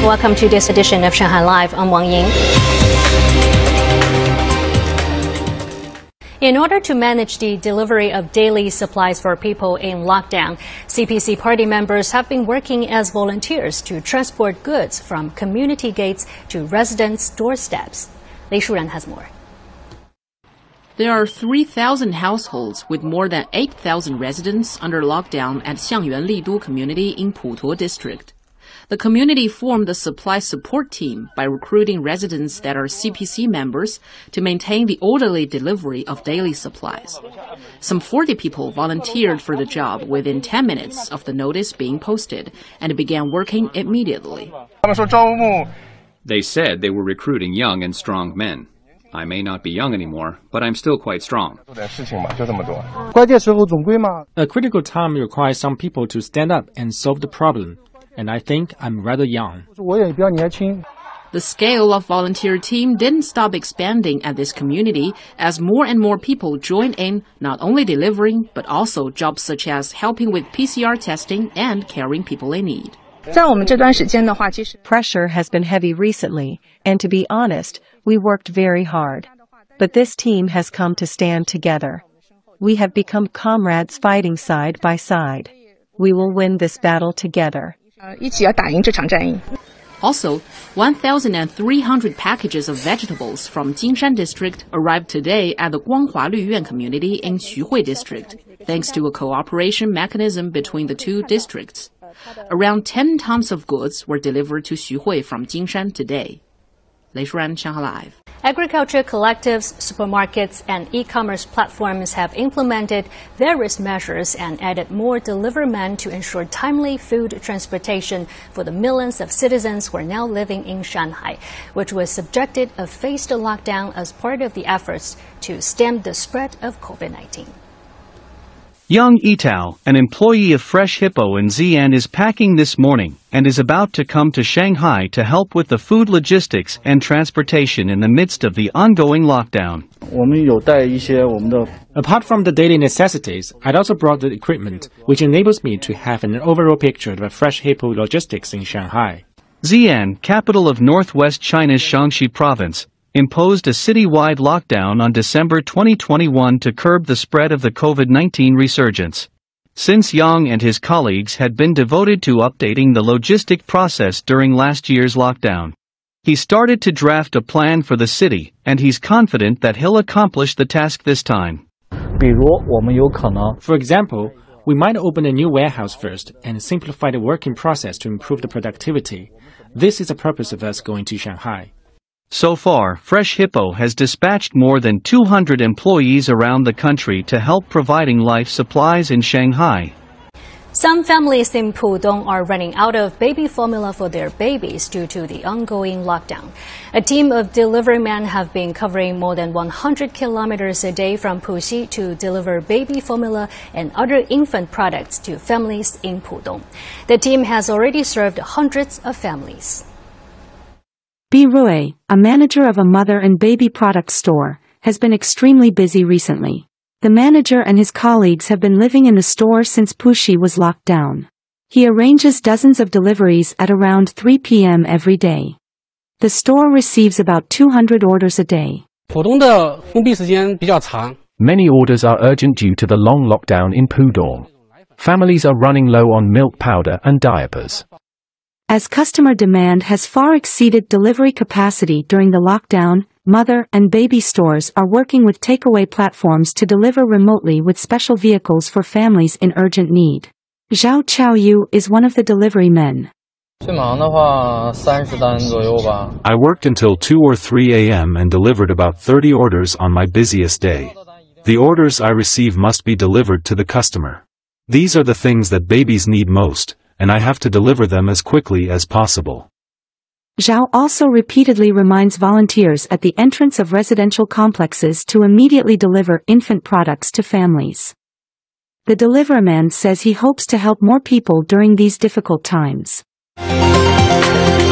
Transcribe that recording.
Welcome to this edition of Shanghai Live. I'm Wang Ying. In order to manage the delivery of daily supplies for people in lockdown, CPC party members have been working as volunteers to transport goods from community gates to residents' doorsteps. Li Shuran has more. There are 3,000 households with more than 8,000 residents under lockdown at Xiangyuan Lidu community in Putuo district. The community formed a supply support team by recruiting residents that are CPC members to maintain the orderly delivery of daily supplies. Some 40 people volunteered for the job within 10 minutes of the notice being posted and began working immediately. They said they were recruiting young and strong men. I may not be young anymore, but I'm still quite strong. A critical time requires some people to stand up and solve the problem, and I think I'm rather young. The scale of volunteer team didn't stop expanding at this community as more and more people joined in, not only delivering, but also jobs such as helping with PCR testing and caring people in need. Pressure has been heavy recently, and to be honest, we worked very hard. But this team has come to stand together. We have become comrades fighting side by side. We will win this battle together. Also, 1,300 packages of vegetables from Jinshan district arrived today at the Guanghua Lüyuan community in Xuhui district, thanks to a cooperation mechanism between the two districts. Around 10 tons of goods were delivered to Xuhui from Jinshan today. Lei Shuran, Shanghai Live. Agriculture collectives, supermarkets, and e-commerce platforms have implemented various measures and added more delivery men to ensure timely food transportation for the millions of citizens who are now living in Shanghai, which was subjected a phased lockdown as part of the efforts to stem the spread of COVID-19. Young Yitao, an employee of Fresh Hippo in Xi'an, is packing this morning and is about to come to Shanghai to help with the food logistics and transportation in the midst of the ongoing lockdown. Apart from the daily necessities, I'd also brought the equipment, which enables me to have an overall picture of a Fresh Hippo logistics in Shanghai. Xi'an, capital of northwest China's Shaanxi province, imposed a citywide lockdown on December 2021 to curb the spread of the COVID-19 resurgence. Since Yang and his colleagues had been devoted to updating the logistic process during last year's lockdown, he started to draft a plan for the city, and he's confident that he'll accomplish the task this time. For example, we might open a new warehouse first and simplify the working process to improve the productivity. This is the purpose of us going to Shanghai. So far, Fresh Hippo has dispatched more than 200 employees around the country to help providing life supplies in Shanghai. Some families in Pudong are running out of baby formula for their babies due to the ongoing lockdown. A team of delivery men have been covering more than 100 kilometers a day from Puxi to deliver baby formula and other infant products to families in Pudong. The team has already served hundreds of families. Bi Rui, a manager of a mother and baby product store, has been extremely busy recently. The manager and his colleagues have been living in the store since Puxi was locked down. He arranges dozens of deliveries at around 3 p.m. every day. The store receives about 200 orders a day. Many orders are urgent due to the long lockdown in Pudong. Families are running low on milk powder and diapers. As customer demand has far exceeded delivery capacity during the lockdown, mother and baby stores are working with takeaway platforms to deliver remotely with special vehicles for families in urgent need. Zhao Chaoyu is one of the delivery men. I worked until 2 or 3 a.m. and delivered about 30 orders on my busiest day. The orders I receive must be delivered to the customer. These are the things that babies need most, and I have to deliver them as quickly as possible. Zhao also repeatedly reminds volunteers at the entrance of residential complexes to immediately deliver infant products to families. The deliverman says he hopes to help more people during these difficult times.